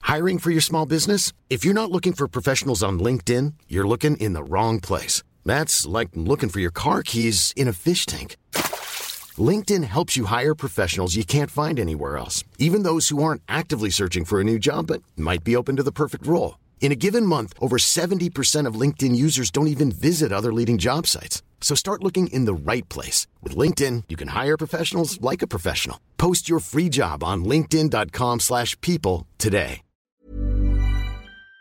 Hiring for your small business? If you're not looking for professionals on LinkedIn, you're looking in the wrong place. That's like looking for your car keys in a fish tank. LinkedIn helps you hire professionals you can't find anywhere else, even those who aren't actively searching for a new job but might be open to the perfect role. In a given month, over 70% of LinkedIn users don't even visit other leading job sites. So start looking in the right place. With LinkedIn, you can hire professionals like a professional. Post your free job on linkedin.com/people today. Quoi ?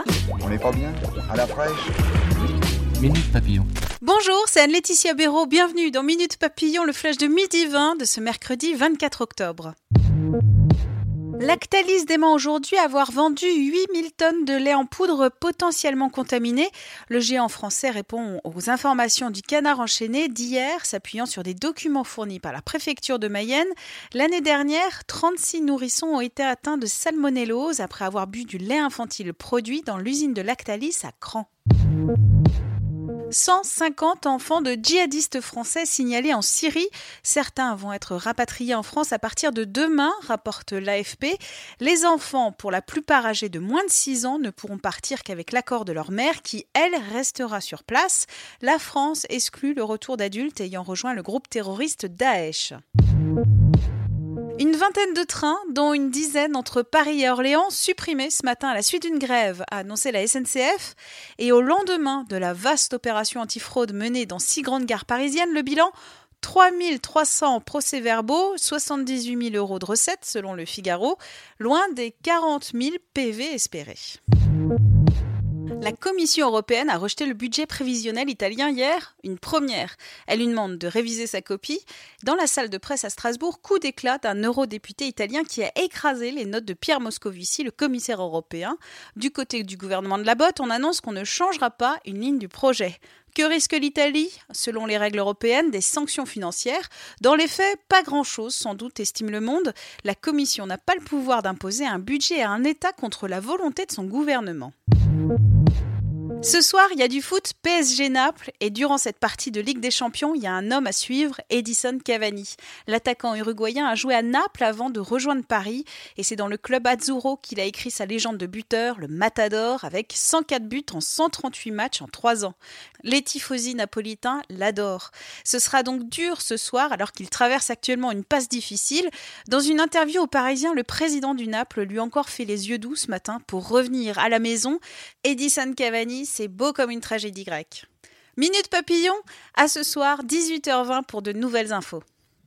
On n'est pas bien ? À la fraîche ? Minute Papillon. Bonjour, c'est Anne-Laetitia Béraud. Bienvenue dans Minute Papillon, le flash de midi 20 de ce mercredi 24 octobre. Lactalis dément aujourd'hui avoir vendu 8000 tonnes de lait en poudre potentiellement contaminé. Le géant français répond aux informations du Canard enchaîné d'hier, s'appuyant sur des documents fournis par la préfecture de Mayenne. L'année dernière, 36 nourrissons ont été atteints de salmonellose après avoir bu du lait infantile produit dans l'usine de Lactalis à Cran. 150 enfants de djihadistes français signalés en Syrie. Certains vont être rapatriés en France à partir de demain, rapporte l'AFP. Les enfants, pour la plupart âgés de moins de 6 ans, ne pourront partir qu'avec l'accord de leur mère qui, elle, restera sur place. La France exclut le retour d'adultes ayant rejoint le groupe terroriste Daesh. Une vingtaine de trains, dont une dizaine entre Paris et Orléans, supprimés ce matin à la suite d'une grève, a annoncé la SNCF. Et au lendemain de la vaste opération antifraude menée dans 6 grandes gares parisiennes, le bilan, 3 300 procès-verbaux, 78 000 euros de recettes selon le Figaro, loin des 40 000 PV espérés. La Commission européenne a rejeté le budget prévisionnel italien hier, une première. Elle lui demande de réviser sa copie. Dans la salle de presse à Strasbourg, coup d'éclat d'un eurodéputé italien qui a écrasé les notes de Pierre Moscovici, le commissaire européen. Du côté du gouvernement de la botte, on annonce qu'on ne changera pas une ligne du projet. Que risque l'Italie ? Selon les règles européennes, des sanctions financières. Dans les faits, pas grand-chose, sans doute, estime Le Monde. La Commission n'a pas le pouvoir d'imposer un budget à un État contre la volonté de son gouvernement. Ce soir, il y a du foot PSG-Naples et durant cette partie de Ligue des Champions, il y a un homme à suivre, Edison Cavani. L'attaquant uruguayen a joué à Naples avant de rejoindre Paris et c'est dans le club Azzurro qu'il a écrit sa légende de buteur, le Matador, avec 104 buts en 138 matchs en 3 ans. Les tifosi napolitains l'adorent. Ce sera donc dur ce soir alors qu'il traverse actuellement une passe difficile. Dans une interview au Parisien, le président du Naples lui a encore fait les yeux doux ce matin pour revenir à la maison. Edison Cavani, c'est beau comme une tragédie grecque. Minute Papillon, à ce soir, 18h20 pour de nouvelles infos.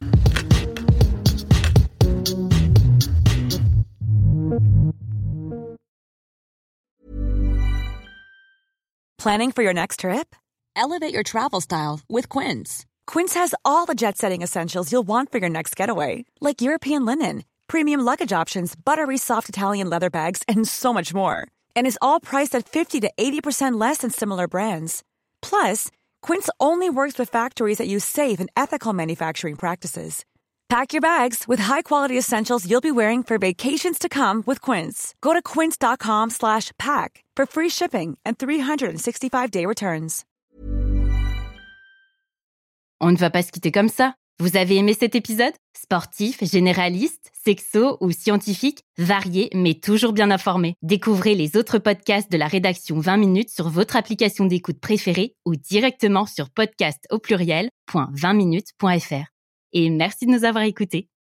Planning for your next trip? Elevate your travel style with Quince. Quince has all the jet-setting essentials you'll want for your next getaway, like European linen, premium luggage options, buttery soft Italian leather bags, and so much more. And is all priced at 50 to 80% less than similar brands. Plus, Quince only works with factories that use safe and ethical manufacturing practices. Pack your bags with high-quality essentials you'll be wearing for vacations to come with Quince. Go to quince.com/pack for free shipping and 365-day returns. On ne va pas se quitter comme ça. Vous avez aimé cet épisode ? Sportif, généraliste, sexo ou scientifique, varié mais toujours bien informé. Découvrez les autres podcasts de la rédaction 20 minutes sur votre application d'écoute préférée ou directement sur podcast@20minutes.fr. Et merci de nous avoir écoutés.